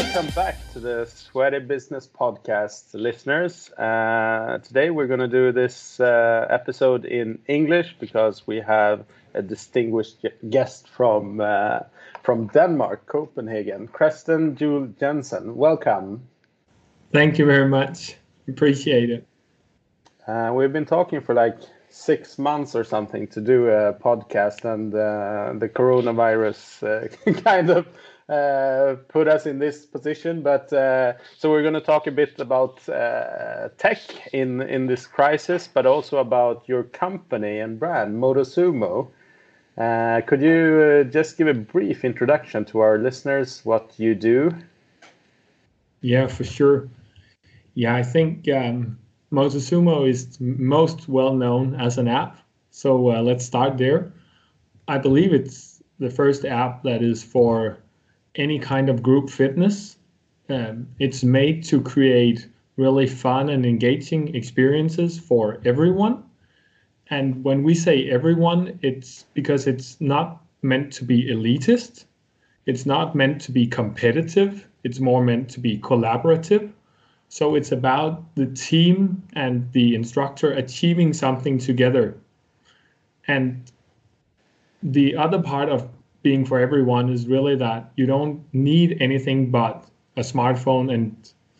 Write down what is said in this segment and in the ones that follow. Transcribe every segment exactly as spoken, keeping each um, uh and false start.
welcome back to the Sweaty Business Podcast, listeners. Uh, today we're going to do this uh, episode in English because we have a distinguished guest from uh, from Denmark, Copenhagen, Christian Juhl Jensen. Welcome. Thank you very much. Appreciate it. Uh, we've been talking for like six months or something to do a podcast, and uh, the coronavirus uh, kind of uh, put us in this position. But uh, so we're going to talk a bit about uh, tech in in this crisis, but also about your company and brand, MotoSumo. Uh, could you uh, just give a brief introduction to our listeners, what you do? Yeah, for sure. Yeah, I think um, MotoSumo is most well known as an app. So uh, let's start there. I believe it's the first app that is for any kind of group fitness. Um, it's made to create really fun and engaging experiences for everyone. And when we say everyone, it's because it's not meant to be elitist. It's not meant to be competitive. It's more meant to be collaborative. So it's about the team and the instructor achieving something together. And the other part of being for everyone is really that you don't need anything but a smartphone and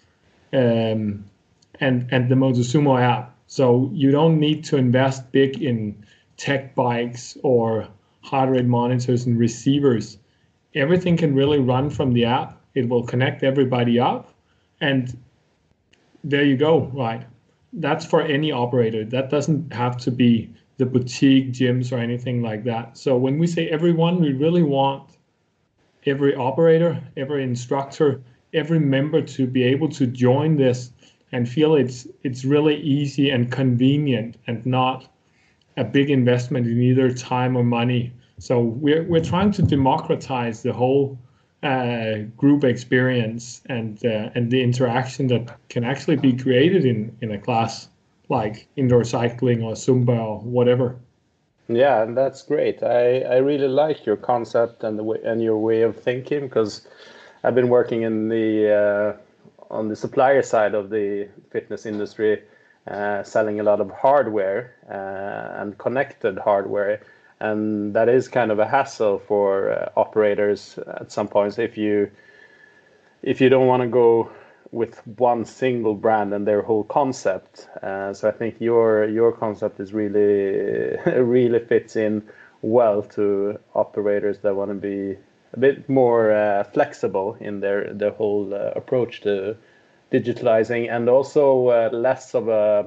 um, and and the MotoSumo app. So you don't need to invest big in tech bikes or heart rate monitors and receivers. Everything can really run from the app. It will connect everybody up, and there you go, right? That's for any operator. That doesn't have to be the boutique gyms or anything like that. So when we say everyone, we really want every operator, every instructor, every member to be able to join this and feel it's it's really easy and convenient and not a big investment in either time or money. So we're we're trying to democratize the whole uh, group experience and uh, and the interaction that can actually be created in, in a class like indoor cycling or Zumba or whatever. Yeah, and that's great. I, I really like your concept and the way, and your way of thinking, because I've been working in the uh, on the supplier side of the fitness industry, uh, selling a lot of hardware uh, and connected hardware. And that is kind of a hassle for uh, operators at some points if you if you don't want to go with one single brand and their whole concept. Uh, so I think your your concept is really really fits in well to operators that want to be a bit more uh, flexible in their their whole uh, approach to digitalizing, and also uh, less of a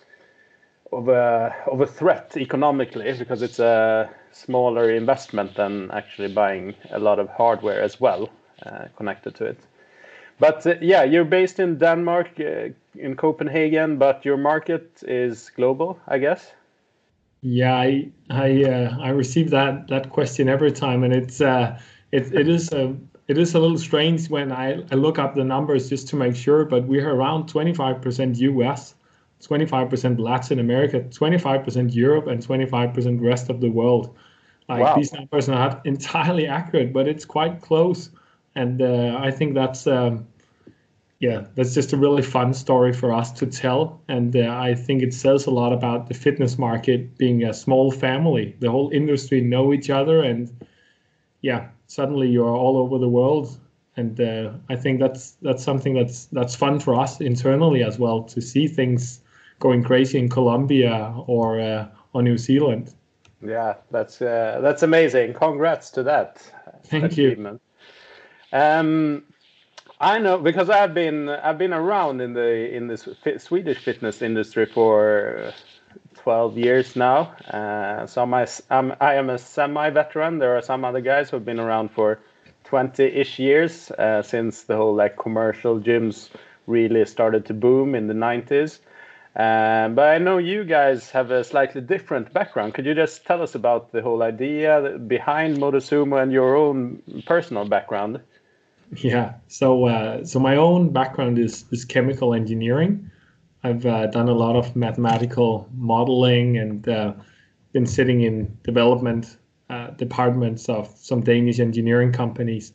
of a of a threat economically, because it's a smaller investment than actually buying a lot of hardware as well uh, connected to it. But uh, yeah, you're based in Denmark, uh, in Copenhagen, but your market is global, I guess. Yeah, I I uh, I receive that that question every time, and it's uh, it it is a it is a little strange when I, I look up the numbers just to make sure. But we're around twenty-five percent U S, twenty-five percent Latin America, twenty-five percent Europe, and twenty-five percent rest of the world. Like Wow. These numbers are not entirely accurate, but it's quite close, and uh, I think that's. Um, Yeah, that's just a really fun story for us to tell. And uh, I think it says a lot about the fitness market being a small family. The whole industry know each other, and yeah, suddenly you're all over the world. And uh, I think that's that's something that's that's fun for us internally as well, to see things going crazy in Colombia or uh, or New Zealand. Yeah, that's uh, that's amazing. Congrats to that Thank achievement. You. Um, I know, because I've been I've been around in the in this fi- Swedish fitness industry for twelve years now. Uh, so I'm, I'm I am a semi-veteran. There are some other guys who've been around for twenty-ish years, uh, since the whole like commercial gyms really started to boom in the nineties. Um, but I know you guys have a slightly different background. Could you just tell us about the whole idea behind MotoSumo and your own personal background? Yeah. So uh, so my own background is is chemical engineering. I've uh, done a lot of mathematical modeling and uh, been sitting in development uh, departments of some Danish engineering companies.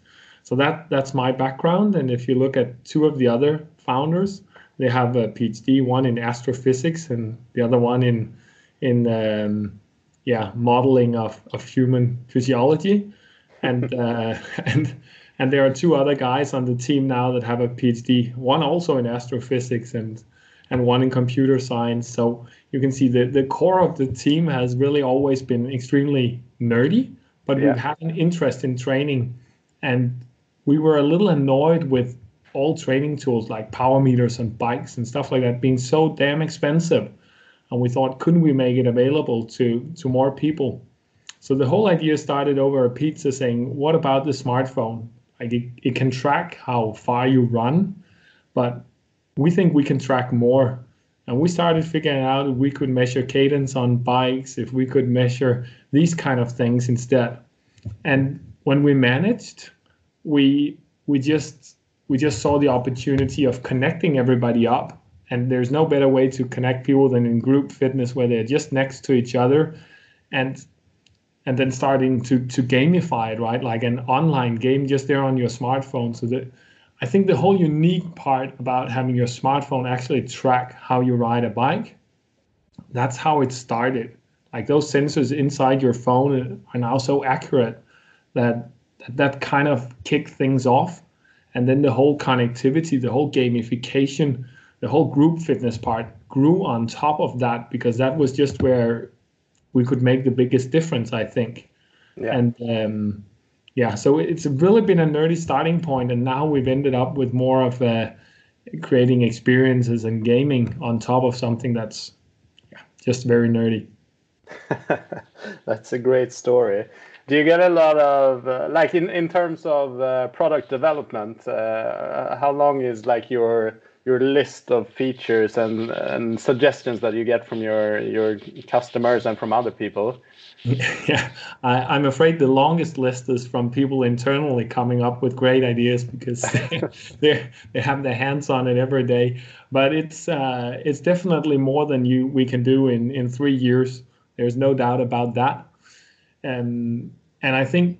So that that's my background. And if you look at two of the other founders, they have a PhD, one in astrophysics and the other one in in um, yeah modeling of, of human physiology. And uh, and and there are two other guys on the team now that have a PhD, one also in astrophysics and and one in computer science. So you can see that the core of the team has really always been extremely nerdy, but Yeah. we've had an interest in training. And we were a little annoyed with all training tools like power meters and bikes and stuff like that being so damn expensive. And we thought, couldn't we make it available to, to more people? So the whole idea started over a pizza saying, what about the smartphone? Like it, it can track how far you run, but we think we can track more. And we started figuring out if we could measure cadence on bikes, if we could measure these kind of things instead. And when we managed, we we just we just saw the opportunity of connecting everybody up. And there's no better way to connect people than in group fitness where they're just next to each other and and then starting to to gamify it, right? Like an online game just there on your smartphone. So that I think the whole unique part about having your smartphone actually track how you ride a bike, that's how it started. Like those sensors inside your phone are now so accurate that that kind of kicked things off. And then the whole connectivity, the whole gamification, the whole group fitness part grew on top of that because that was just where we could make the biggest difference, I think. Yeah. And um, yeah, so it's really been a nerdy starting point, and now we've ended up with more of a creating experiences and gaming on top of something that's yeah, just very nerdy. That's a great story. Do you get a lot of uh, like in, in terms of uh, product development? Uh, how long is like your your list of features and and suggestions that you get from your your customers and from other people? Yeah, I, I'm afraid the longest list is from people internally coming up with great ideas because they they have their hands on it every day. But it's uh, it's definitely more than you we can do in in three years. There's no doubt about that. Um, and I think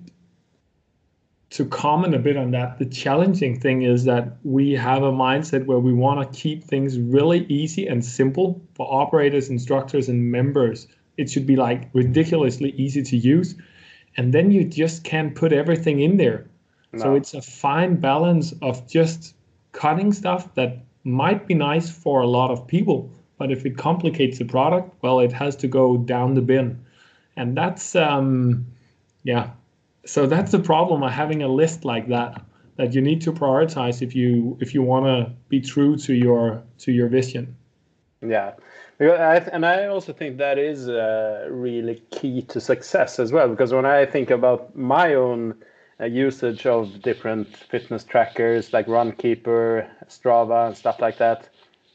to comment a bit on that, the challenging thing is that we have a mindset where we want to keep things really easy and simple for operators, instructors, and members. It should be like ridiculously easy to use. And then you just can't put everything in there. No. So it's a fine balance of just cutting stuff that might be nice for a lot of people. But if it complicates the product, well, it has to go down the bin. And that's, um, yeah. So that's the problem of having a list like that, that you need to prioritize if you if you want to be true to your to your vision. Yeah, and I also think that is uh, really key to success as well. Because when I think about my own uh, usage of different fitness trackers like Runkeeper, Strava, and stuff like that,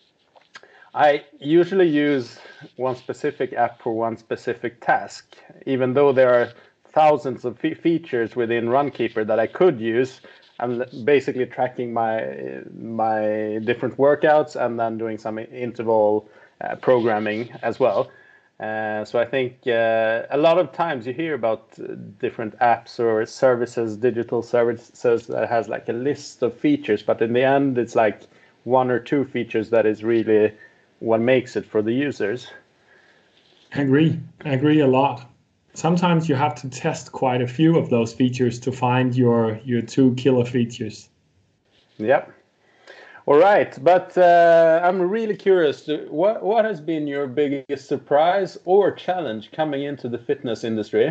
I usually use one specific app for one specific task, even though there are thousands of fe- features within Runkeeper that I could use. I'm basically tracking my my different workouts and then doing some interval uh, programming as well. Uh, so I think uh, a lot of times you hear about uh, different apps or services, digital services that has like a list of features, but in the end it's like one or two features that is really what makes it for the users. I agree. I agree a lot. Sometimes you have to test quite a few of those features to find your your two killer features. Yep. All right, but uh, I'm really curious. What what has been your biggest surprise or challenge coming into the fitness industry?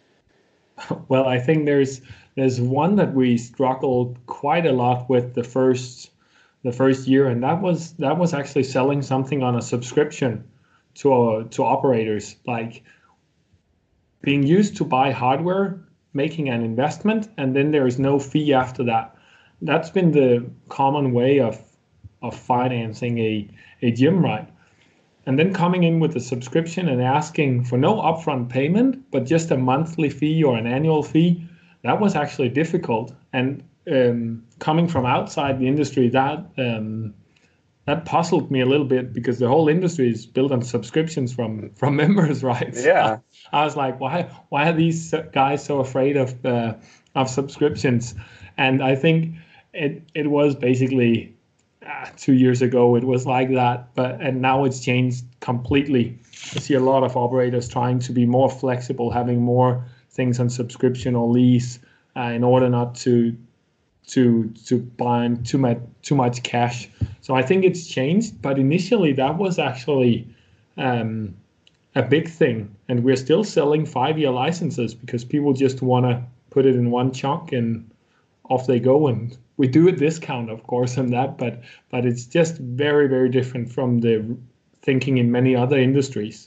Well, I think there's there's one that we struggled quite a lot with the first the first year, and that was that was actually selling something on a subscription to uh, to operators, like being used to buy hardware, making an investment, and then there is no fee after that. That's been the common way of of financing a, a gym, right? And then coming in with a subscription and asking for no upfront payment, but just a monthly fee or an annual fee, that was actually difficult. And um, coming from outside the industry, that um, that puzzled me a little bit because the whole industry is built on subscriptions from from members, right? Yeah. So I was like, why why are these guys so afraid of uh, of subscriptions. And I think it it was basically uh, two years ago it was like that, but and now it's changed completely. I see a lot of operators trying to be more flexible, having more things on subscription or lease uh, in order not to to to buy too much too much cash. So I think it's changed, but initially that was actually um, a big thing, and we're still selling five-year licenses because people just want to put it in one chunk and off they go. And we do a discount, of course, on that, but but it's just very, very different from the thinking in many other industries.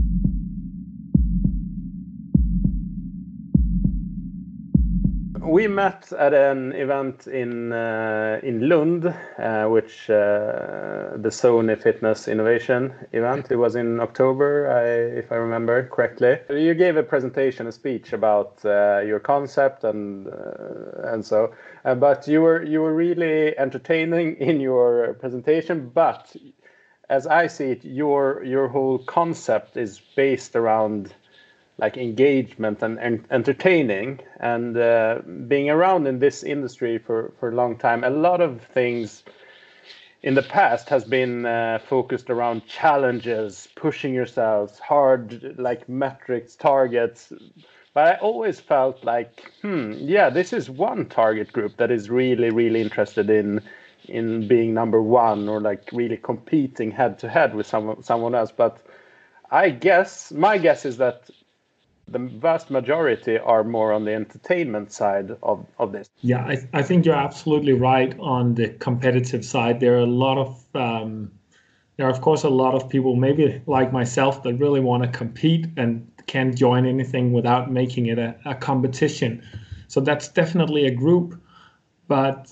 We met at an event in uh, in Lund, uh, which uh, the Sony Fitness Innovation event. It was in October, I, if I remember correctly. You gave a presentation, a speech about uh, your concept and uh, and so. Uh, but you were you were really entertaining in your presentation. But as I see it, your your whole concept is based around like engagement and, and entertaining, and uh, being around in this industry for, for a long time, a lot of things in the past has been uh, focused around challenges, pushing yourselves hard, like metrics, targets. But I always felt like, hmm, yeah, this is one target group that is really, really interested in in being number one or like really competing head to head with someone someone else. But I guess my guess is that the vast majority are more on the entertainment side of, of this. Yeah, I, I think you're absolutely right on the competitive side. There are a lot of, um, there are of course a lot of people, maybe like myself, that really want to compete and can't join anything without making it a, a competition. So that's definitely a group. But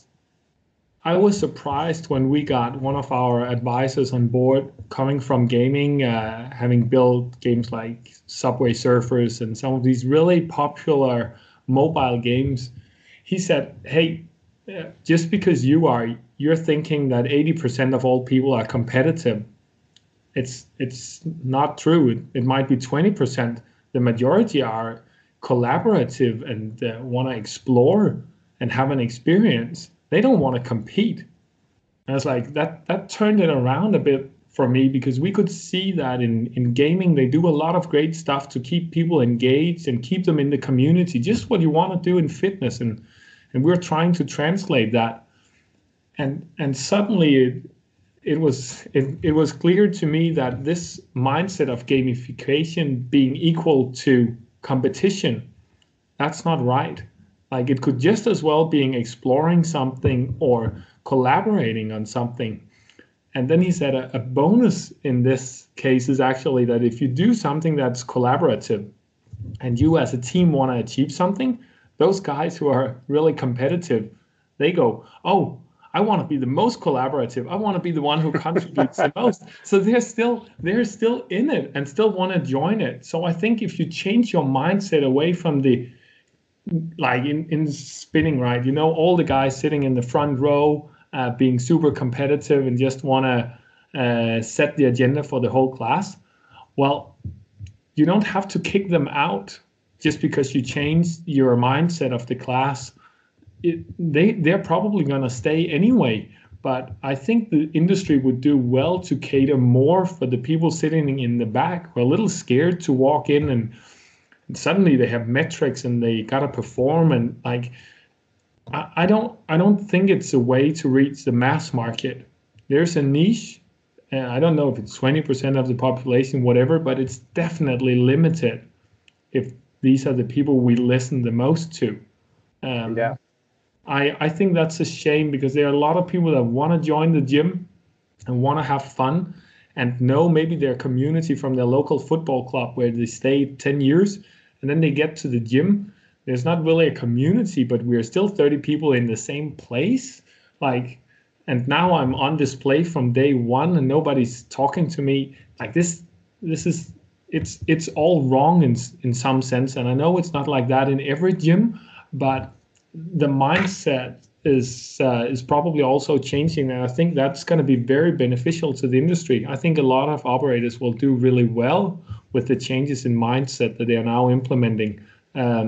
I was surprised when we got one of our advisors on board coming from gaming, uh, having built games like Subway Surfers and some of these really popular mobile games. He said, hey, just because you are, you're thinking that eighty percent of all people are competitive. It's it's not true. It, it might be twenty percent. The majority are collaborative and uh, want to explore and have an experience. They don't want to compete. And I was like, that that turned it around a bit for me, because we could see that in, in gaming, they do a lot of great stuff to keep people engaged and keep them in the community, just what you want to do in fitness. And and we're trying to translate that. And and suddenly it, it was it, it was clear to me that this mindset of gamification being equal to competition, that's not right. Like, it could just as well being exploring something or collaborating on something. And then he said a, a bonus in this case is actually that if you do something that's collaborative and you as a team want to achieve something, those guys who are really competitive, they go, oh, I want to be the most collaborative. I want to be the one who contributes the most. So they're still they're still in it and still want to join it. So I think if you change your mindset away from the, like in, in spinning, right, you know, all the guys sitting in the front row uh, being super competitive and just want to uh, set the agenda for the whole class. Well, you don't have to kick them out just because you change your mindset of the class. It, they, they're probably going to stay anyway. But I think the industry would do well to cater more for the people sitting in the back who are a little scared to walk in and suddenly they have metrics and they gotta perform, and like I, I don't I don't think it's a way to reach the mass market. There's a niche, and I don't know if it's twenty percent of the population, whatever, but it's definitely limited if these are the people we listen the most to. Um, yeah. I, I think that's a shame, because there are a lot of people that want to join the gym and want to have fun and know maybe their community from their local football club where they stayed ten years, and then they get to the gym. There's not really a community, but we're still thirty people in the same place. Like, and now I'm on display from day one and nobody's talking to me. Like this, this is, it's it's all wrong in in some sense. And I know it's not like that in every gym, but the mindset is uh, is probably also changing, and I think that's going to be very beneficial to the industry. I think a lot of operators will do really well with the changes in mindset that they are now implementing. Um,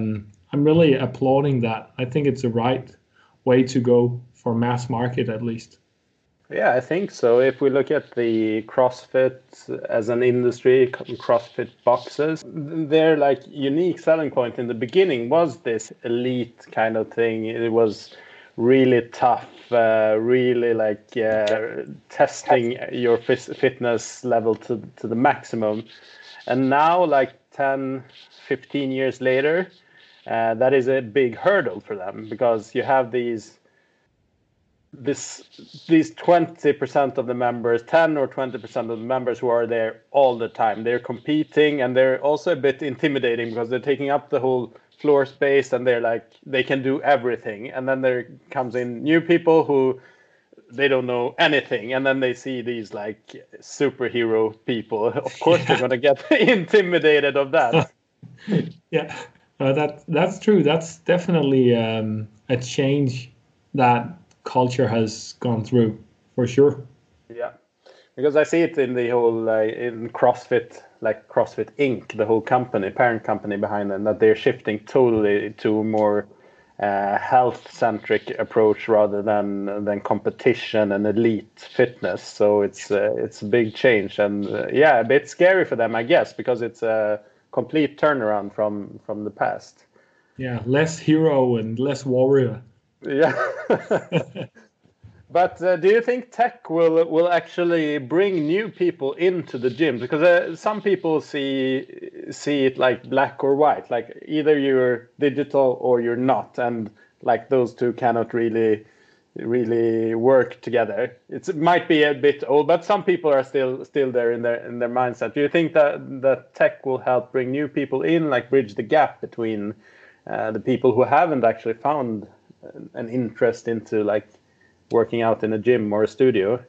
I'm really applauding that. I think it's the right way to go for mass market, at least. Yeah, I think so. If we look at the CrossFit as an industry, CrossFit boxes, their like unique selling point in the beginning was this elite kind of thing. It was really tough, uh, really like uh, testing your fitness level to, to the maximum. And now, like ten, fifteen years later, uh, that is a big hurdle for them, because you have these this these twenty percent of the members, ten or twenty percent of the members who are there all the time. They're competing, and they're also a bit intimidating because they're taking up the whole floor space, and they're like, they can do everything. And then there comes in new people who they don't know anything, and then they see these like superhero people. Of course, yeah. They're going to get intimidated of that. Yeah, uh, that that's true. That's definitely um, a change that culture has gone through, for sure. Yeah, because I see it in the whole uh, in CrossFit, like CrossFit Incorporated, the whole company, parent company behind them, that they're shifting totally to a more uh, health-centric approach rather than than competition and elite fitness. So it's uh, it's a big change, and uh, yeah, a bit scary for them, I guess, because it's a complete turnaround from from the past. Yeah, less hero and less warrior. Yeah. But uh, do you think tech will will actually bring new people into the gym? Because uh, some people see see it like black or white, like either you're digital or you're not, and like those two cannot really really work together. It's, it might be a bit old, but some people are still still there in their in their mindset. Do you think that that tech will help bring new people in, like bridge the gap between uh, the people who haven't actually found an interest into like working out in a gym or a studio?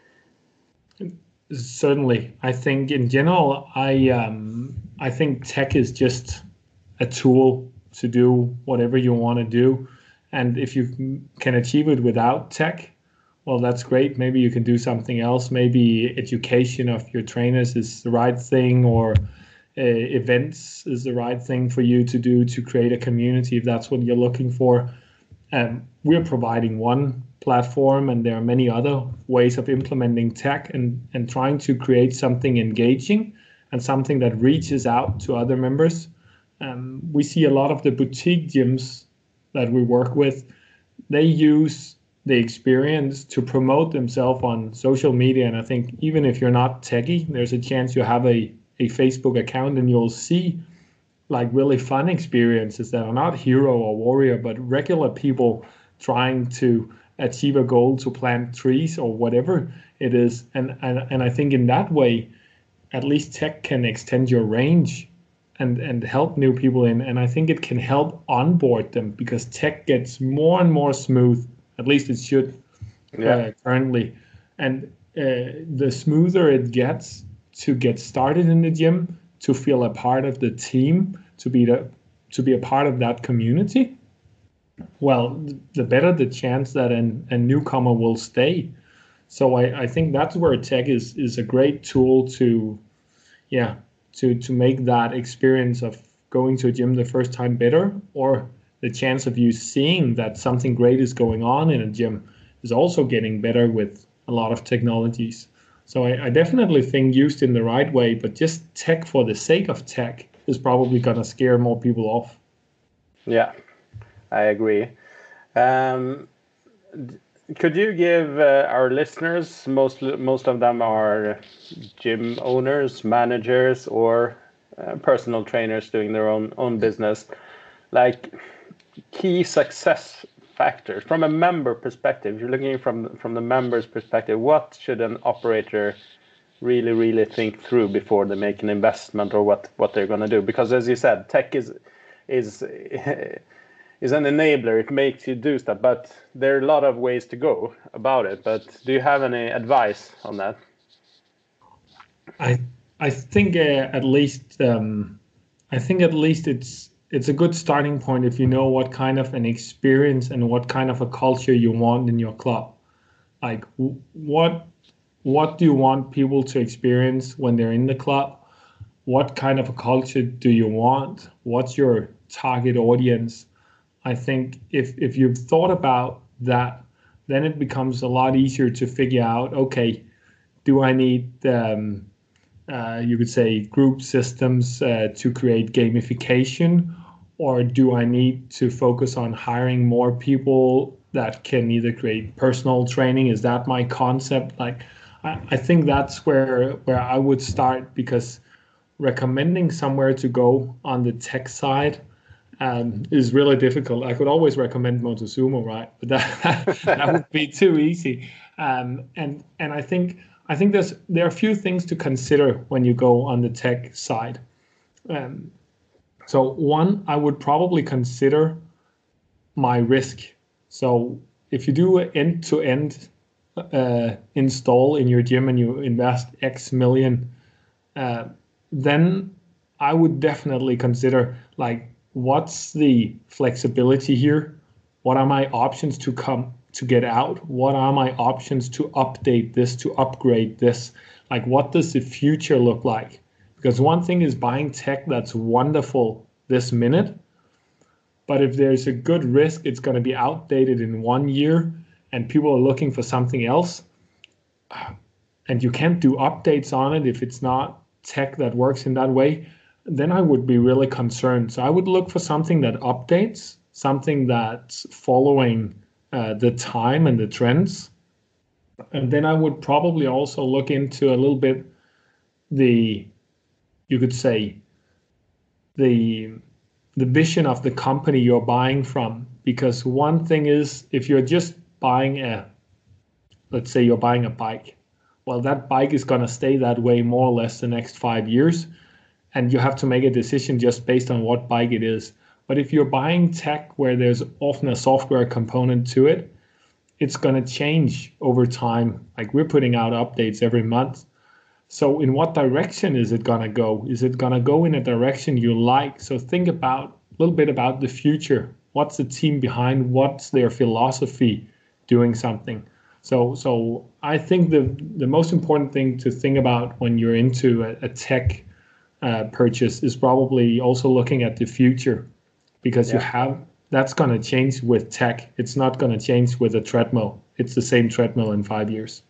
Certainly. I think in general, I um, I think tech is just a tool to do whatever you want to do. And if you can achieve it without tech, well, that's great. Maybe you can do something else. Maybe education of your trainers is the right thing, or uh, events is the right thing for you to do to create a community, if that's what you're looking for. Um, we're providing one platform, and there are many other ways of implementing tech and, and trying to create something engaging and something that reaches out to other members. Um, we see a lot of the boutique gyms that we work with, they use the experience to promote themselves on social media. And I think even if you're not techie, there's a chance you have a, a Facebook account, and you'll see like really fun experiences that are not hero or warrior, but regular people trying to achieve a goal to plant trees or whatever it is. And, and, and I think in that way, at least tech can extend your range and, and help new people in. And I think it can help onboard them, because tech gets more and more smooth, at least it should yeah. uh, currently. And uh, the smoother it gets to get started in the gym, to feel a part of the team, to be the, to be a part of that community, well, the better the chance that an, a newcomer will stay. So I, I think that's where tech is is a great tool to, yeah, to to make that experience of going to a gym the first time better, or the chance of you seeing that something great is going on in a gym is also getting better with a lot of technologies. So I, I definitely think used in the right way, but just tech for the sake of tech is probably going to scare more people off. Yeah, I agree. Um, could you give uh, our listeners, most most of them are gym owners, managers, or uh, personal trainers doing their own own business, like key success factors from a member perspective? If you're looking from from the member's perspective, what should an operator really really think through before they make an investment, or what what they're going to do? Because as you said, tech is is is an enabler. It makes you do stuff, but there are a lot of ways to go about it. But do you have any advice on that? I I think uh, at least um, I think at least it's it's a good starting point if you know what kind of an experience and what kind of a culture you want in your club. Like what what do you want people to experience when they're in the club? What kind of a culture do you want? What's your target audience. I think if if you've thought about that, then it becomes a lot easier to figure out, okay, do I need, um, uh, you could say, group systems uh, to create gamification, or do I need to focus on hiring more people that can either create personal training? Is that my concept? Like, I, I think that's where where I would start, because recommending somewhere to go on the tech side um, is really difficult. I could always recommend Motosumo, right? But that that would be too easy. Um, and and I think I think there's there are a few things to consider when you go on the tech side. Um, so one, I would probably consider my risk. So if you do an end-to-end uh, install in your gym and you invest X million, uh, then I would definitely consider, like, what's the flexibility here? What are my options to come to get out? What are my options to update this, to upgrade this? Like, what does the future look like? Because one thing is buying tech that's wonderful this minute, but if there's a good risk it's going to be outdated in one year and people are looking for something else, and you can't do updates on it if it's not tech that works in that way, then I would be really concerned. So I would look for something that updates, something that's following uh, the time and the trends. And then I would probably also look into a little bit the, you could say, the the vision of the company you're buying from. Because one thing is, if you're just buying a, let's say you're buying a bike, well, that bike is going to stay that way more or less the next five years. And you have to make a decision just based on what bike it is. But if you're buying tech where there's often a software component to it, it's going to change over time. Like, we're putting out updates every month. So in what direction is it going to go? Is it going to go in a direction you like? So think about a little bit about the future. What's the team behind? What's their philosophy doing something? So so I think the, the most important thing to think about when you're into a, a tech uh, purchase is probably also looking at the future, because yeah. you have that's going to change with tech. It's not going to change with a treadmill. It's the same treadmill in five years.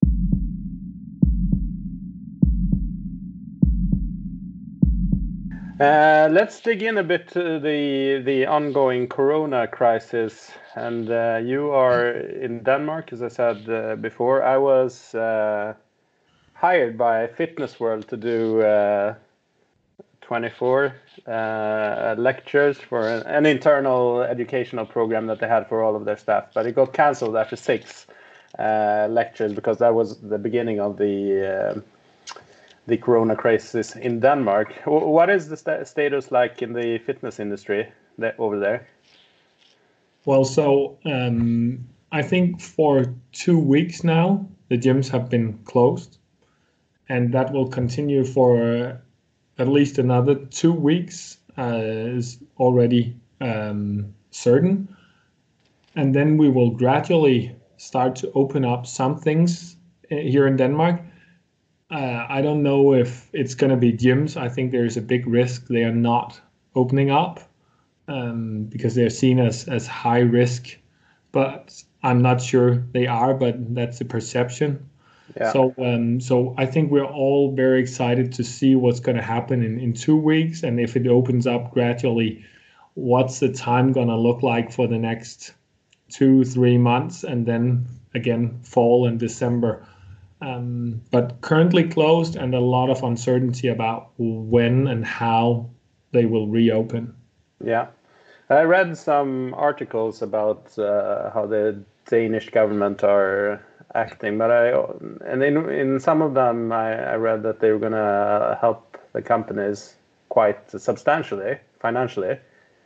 Uh, let's dig in a bit to the the ongoing Corona crisis. And uh, you are in Denmark, as I said uh, before. I was uh, hired by Fitness World to do uh, twenty-four uh, lectures for an, an internal educational program that they had for all of their staff. But it got cancelled after six uh, lectures, because that was the beginning of the uh, the Corona crisis in Denmark. What is the st status like in the fitness industry that, over there? Well, so um, I think for two weeks now, the gyms have been closed, and that will continue for uh, at least another two weeks, uh, is already um, certain. And then we will gradually start to open up some things here in Denmark. Uh, I don't know if it's going to be gyms. I think there's a big risk they are not opening up um, because they're seen as, as high risk. But I'm not sure they are, but that's the perception. Yeah. So um, so I think we're all very excited to see what's going to happen in, in two weeks. And if it opens up gradually, what's the time going to look like for the next two, three months, and then again, fall and December. Um, but currently closed, and a lot of uncertainty about when and how they will reopen. Yeah, I read some articles about uh, how the Danish government are acting, but I and in in some of them I, I read that they were going to help the companies quite substantially financially.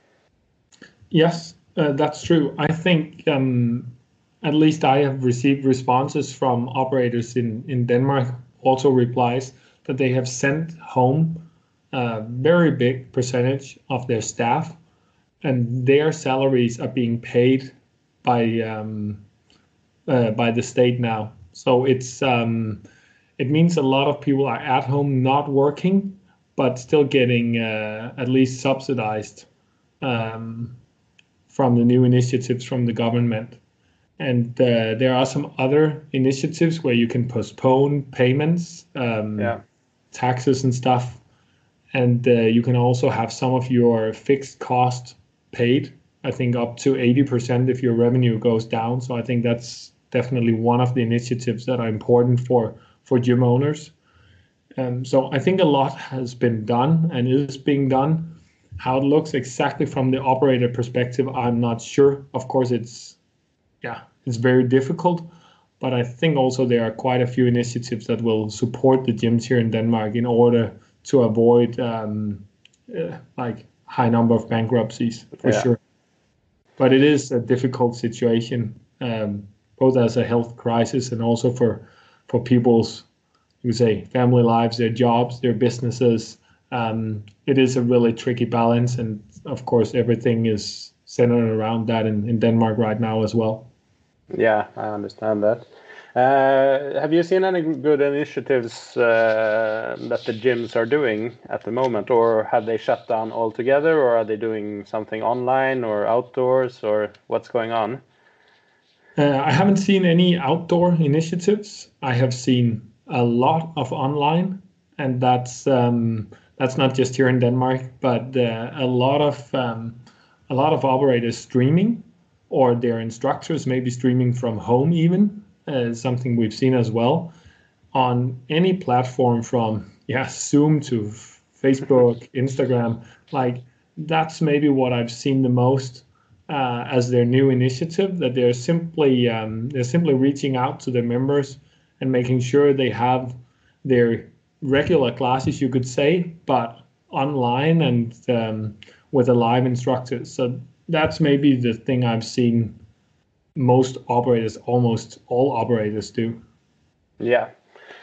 Yes, uh, that's true. I think. Um, At least I have received responses from operators in, in Denmark, also replies that they have sent home a very big percentage of their staff, and their salaries are being paid by um, uh, by the state now. So it's um, it means a lot of people are at home not working, but still getting uh, at least subsidized um, from the new initiatives from the government. And uh, there are some other initiatives where you can postpone payments, um, Yeah. taxes and stuff. And uh, you can also have some of your fixed cost paid, I think up to eighty percent if your revenue goes down. So I think that's definitely one of the initiatives that are important for, for gym owners. Um, so I think a lot has been done and is being done. How it looks exactly from the operator perspective, I'm not sure. Of course, it's yeah, it's very difficult. But I think also there are quite a few initiatives that will support the gyms here in Denmark in order to avoid um, uh, like high number of bankruptcies for Yeah. sure. But it is a difficult situation, um, both as a health crisis and also for for people's, you say, family lives, their jobs, their businesses. Um, it is a really tricky balance, and of course, everything is centered around that in, in Denmark right now as well. Yeah, I understand that. Uh, have you seen any good initiatives uh, that the gyms are doing at the moment, or have they shut down altogether, or are they doing something online or outdoors, or what's going on? Uh, I haven't seen any outdoor initiatives. I have seen a lot of online, and that's um, that's not just here in Denmark, but uh, a lot of um, a lot of operators streaming, or their instructors maybe streaming from home even, uh, something we've seen as well on any platform from yeah Zoom to Facebook, Instagram. Like that's maybe what I've seen the most uh, as their new initiative. That they're simply um, they're simply reaching out to their members and making sure they have their regular classes, you could say, but online and um, with a live instructor. So that's maybe the thing I've seen most operators, almost all operators do. Yeah.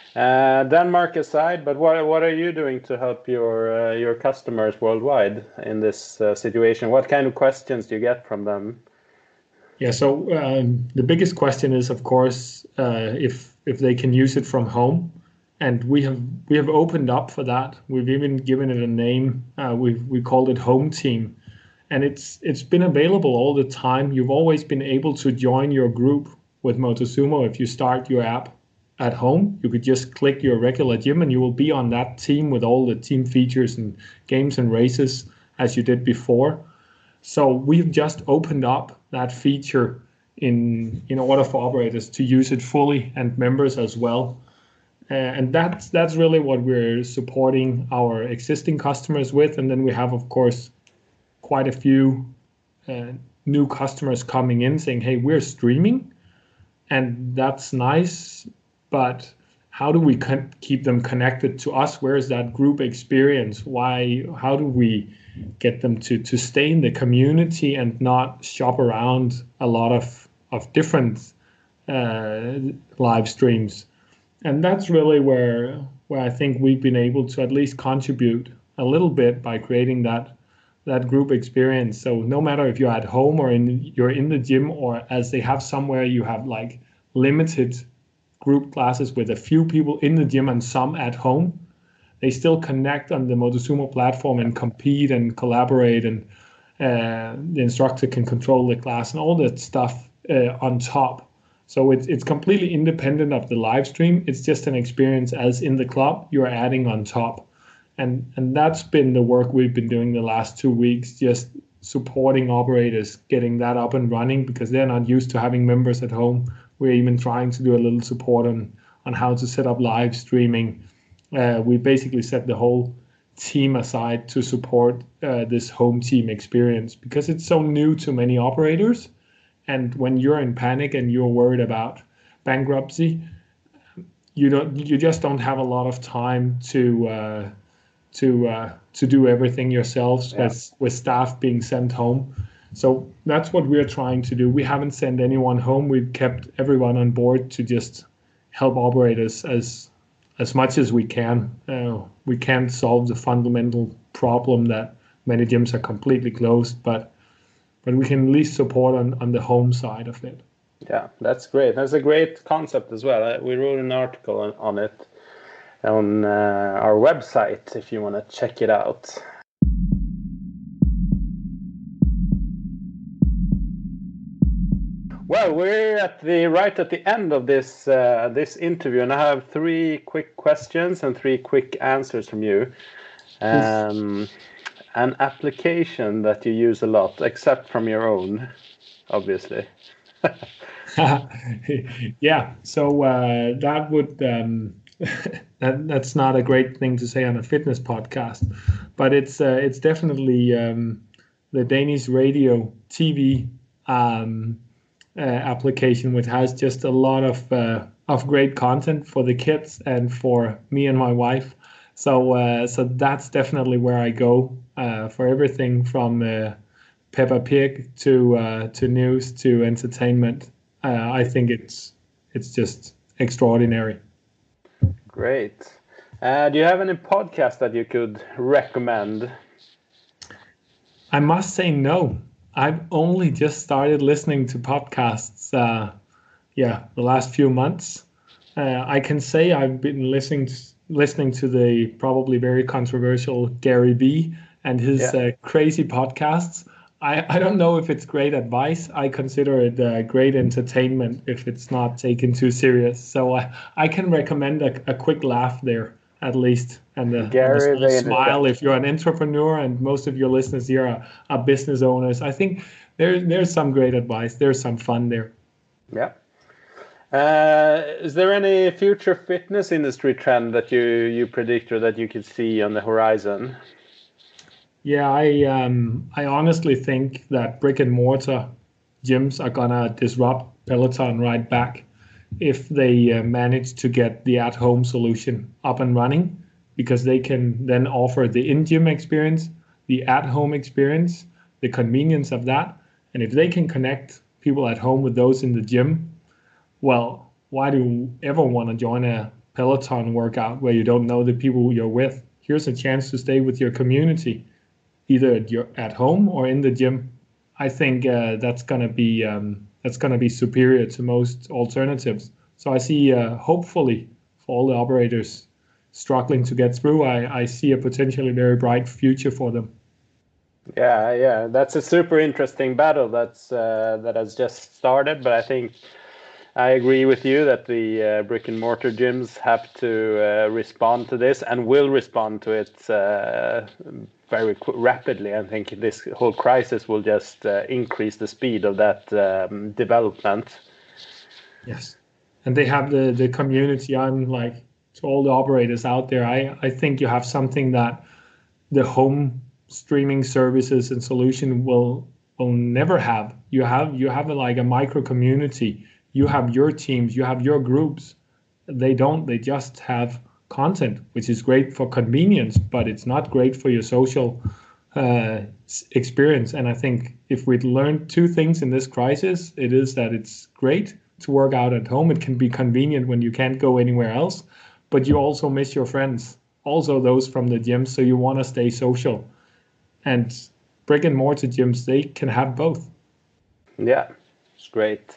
Uh, Denmark aside, but what what are you doing to help your uh, your customers worldwide in this uh, situation? What kind of questions do you get from them? Yeah, so um, the biggest question is, of course, uh, if if they can use it from home, and we have we have opened up for that. We've even given it a name. Uh, we we called it Home Team, and it's it's been available all the time. You've always been able to join your group with Motosumo if you start your app at home. You could just click your regular gym, and you will be on that team with all the team features and games and races as you did before. So we've just opened up that feature in in order for operators to use it fully and members as well. Uh, and that's that's really what we're supporting our existing customers with. And then we have, of course, quite a few uh, new customers coming in saying, "Hey, we're streaming, and that's nice, but how do we con- keep them connected to us? Where is that group experience? Why? How do we get them to to stay in the community and not shop around a lot of of different uh, live streams?" And that's really where where I think we've been able to at least contribute a little bit by creating that that group experience. So no matter if you're at home or in you're in the gym, or as they have somewhere you have like limited group classes with a few people in the gym and some at home, they still connect on the Motosumo platform and compete and collaborate, and uh, the instructor can control the class and all that stuff uh, on top. So it's it's completely independent of the live stream. It's just an experience as in the club you're adding on top. And and that's been the work we've been doing the last two weeks, just supporting operators getting that up and running because they're not used to having members at home. We're even trying to do a little support on on how to set up live streaming. Uh, we basically set the whole team aside to support uh, this home team experience because it's so new to many operators. And when you're in panic and you're worried about bankruptcy, you don't you just don't have a lot of time to uh, to uh, to do everything yourselves Yeah. with with staff being sent home. So that's what we're trying to do. We haven't sent anyone home. We've kept everyone on board to just help operators as as much as we can. Uh, we can't solve the fundamental problem that many gyms are completely closed, but but we can at least support on, on the home side of it. Yeah, that's great. That's a great concept as well. Uh, We wrote an article on, on it on uh, our website if you want to check it out. Well, we're at the right at the end of this uh, this interview, and I have three quick questions and three quick answers from you. Um, an application that you use a lot, except from your own, obviously. Yeah, so uh, that would um, that that's not a great thing to say on a fitness podcast, but it's uh, it's definitely um, the Danish radio T V um, uh, application, which has just a lot of uh, of great content for the kids and for me and my wife. So uh, so that's definitely where I go uh, for everything from uh, Peppa Pig to uh, to news to entertainment. Uh, I think it's it's just extraordinary. Great. Uh, do you have any podcast that you could recommend? I must say no. I've only just started listening to podcasts. Uh, yeah, the last few months. Uh, I can say I've been listening to, listening to the probably very controversial Gary Vee and his yeah. uh, crazy podcasts. I, I don't know if it's great advice. I consider it uh, great entertainment if it's not taken too serious. So I, I can recommend a, a quick laugh there, at least, and a, and a smile if you're an entrepreneur, and most of your listeners here are, are business owners. I think there, there's some great advice. There's some fun there. Yeah. Uh, is there any future fitness industry trend that you, you predict or that you could see on the horizon? Yeah, I um, I honestly think that brick and mortar gyms are gonna disrupt Peloton right back if they uh, manage to get the at-home solution up and running, because they can then offer the in-gym experience, the at-home experience, the convenience of that. And if they can connect people at home with those in the gym, well, why do you ever want to join a Peloton workout where you don't know the people you're with? Here's a chance to stay with your community, either at, your, at home or in the gym. I think uh, that's gonna be um, that's gonna be superior to most alternatives. So I see, uh, hopefully, for all the operators struggling to get through, I, I see a potentially very bright future for them. Yeah, yeah, that's a super interesting battle that's uh, that has just started. But I think I agree with you that the uh, brick and mortar gyms have to uh, respond to this and will respond to it uh, very qu- rapidly. I think this whole crisis will just uh, increase the speed of that um, development. Yes, and they have the, the community. I'm like, to all the operators out there, I, I think you have something that the home streaming services and solution will will never have. You have you have a, like a micro community. You have your teams, you have your groups. They don't, they just have content, which is great for convenience, but it's not great for your social uh, experience. And I think if we'd learned two things in this crisis, it is that it's great to work out at home. It can be convenient when you can't go anywhere else, but you also miss your friends, also those from the gym, so you want to stay social. And brick and mortar gyms, they can have both. Yeah, it's great.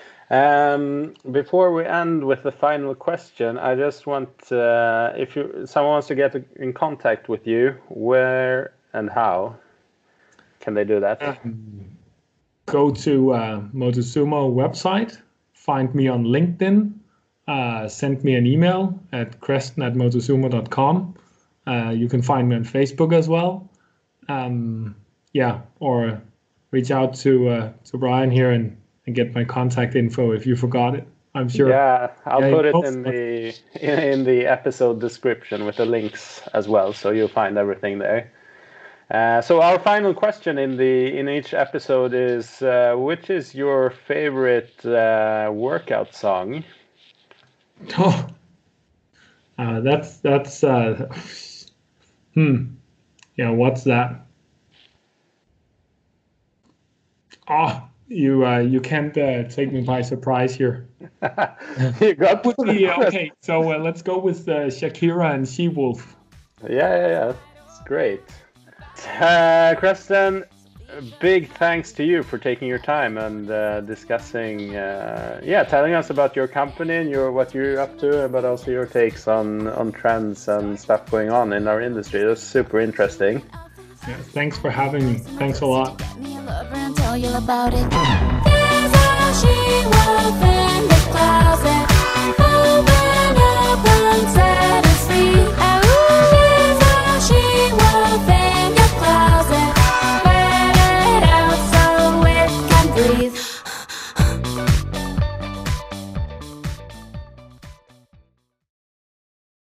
Um, before we end with the final question, I just want, uh, if you someone wants to get in contact with you, where and how can they do that? Um, go to uh, Motosumo website, find me on LinkedIn, uh, send me an email at creston at motosumo dot com. Uh, you can find me on Facebook as well. Um, yeah, or reach out to uh, to Brian here and. and get my contact info if you forgot it. I'm sure. Yeah, I'll yeah, put it in the in the episode description with the links as well, so you'll find everything there. Uh, so our final question in the in each episode is, uh, which is your favorite uh, workout song? Oh, uh, that's that's uh, hmm. Yeah, what's that? Oh. You uh, you can't uh, take me by surprise here. You got would be, okay, so uh, let's go with uh, Shakira and She Wolf. Yeah, yeah, yeah. It's great. Uh, Creston, big thanks to you for taking your time and uh, discussing, uh, yeah, telling us about your company and your what you're up to, but also your takes on, on trends and stuff going on in our industry. It was super interesting. Yeah, thanks for having me. Thanks a lot. Tell you about it. wolf in the clouds.